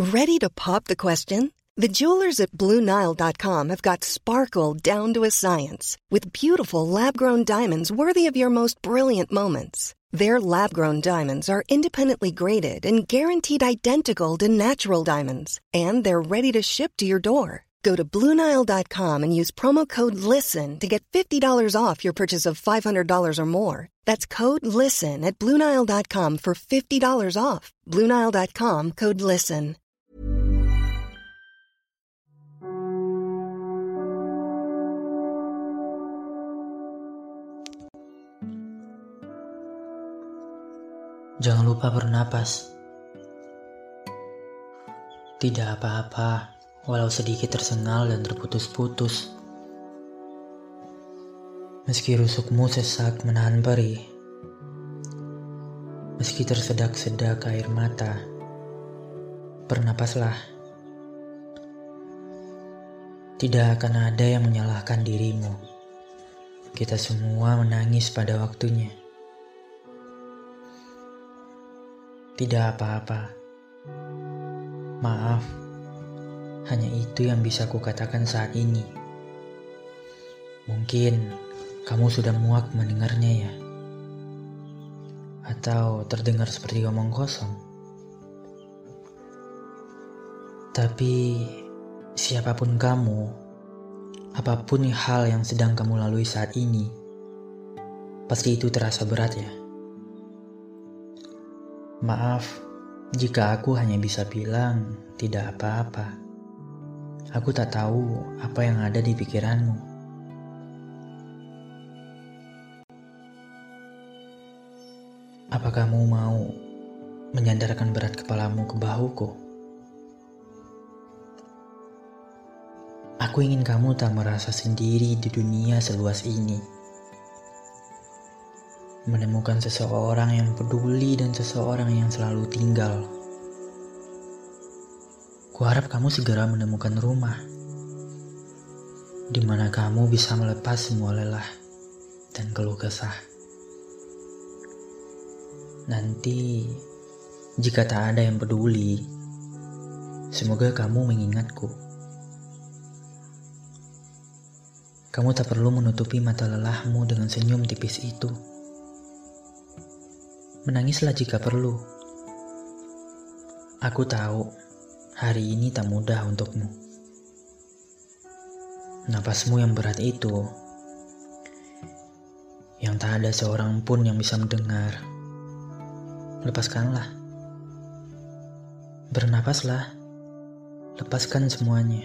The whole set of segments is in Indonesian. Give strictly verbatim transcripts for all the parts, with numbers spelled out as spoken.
Ready to pop the question? The jewelers at Blue Nile dot com have got sparkle down to a science with beautiful lab-grown diamonds worthy of your most brilliant moments. Their lab-grown diamonds are independently graded and guaranteed identical to natural diamonds, and they're ready to ship to your door. Go to Blue Nile dot com and use promo code LISTEN to get fifty dollars off your purchase of five hundred dollars or more. That's code LISTEN at Blue Nile dot com for fifty dollars off. Blue Nile dot com, code LISTEN. Jangan lupa bernapas. Tidak apa-apa, walau sedikit tersengal dan terputus-putus. Meski rusukmu sesak menahan perih, meski tersedak-sedak air mata, bernapaslah. Tidak akan ada yang menyalahkan dirimu. Kita semua menangis pada waktunya. Tidak apa-apa. Maaf, hanya itu yang bisa kukatakan saat ini. Mungkin kamu sudah muak mendengarnya ya? Atau terdengar seperti omong kosong? Tapi siapapun kamu, apapun hal yang sedang kamu lalui saat ini, pasti itu terasa berat ya? Maaf jika aku hanya bisa bilang tidak apa-apa. Aku tak tahu apa yang ada di pikiranmu. Apa kamu mau menyandarkan berat kepalamu ke bahuku? Aku ingin kamu tak merasa sendiri di dunia seluas ini. Menemukan seseorang yang peduli dan seseorang yang selalu tinggal. Kuharap kamu segera menemukan rumah di mana kamu bisa melepas semua lelah dan keluh kesah. Nanti, jika tak ada yang peduli, semoga kamu mengingatku. Kamu tak perlu menutupi mata lelahmu dengan senyum tipis itu. Menangislah jika perlu. Aku tahu hari ini tak mudah untukmu. Napasmu yang berat itu, yang tak ada seorang pun yang bisa mendengar. Lepaskanlah. Bernapaslah. Lepaskan semuanya.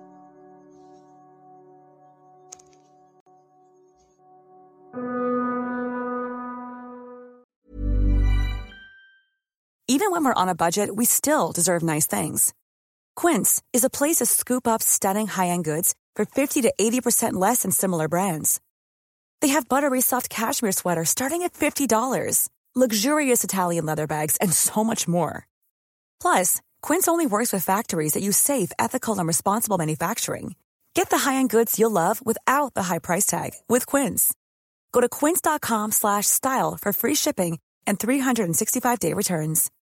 Even when we're on a budget, we still deserve nice things. Quince is a place to scoop up stunning high-end goods for fifty to eighty percent less than similar brands. They have buttery soft cashmere sweaters starting at fifty dollars, luxurious Italian leather bags, and so much more. Plus, Quince only works with factories that use safe, ethical, and responsible manufacturing. Get the high-end goods you'll love without the high price tag with Quince. Go to quince dot com slash style for free shipping and three sixty-five day returns.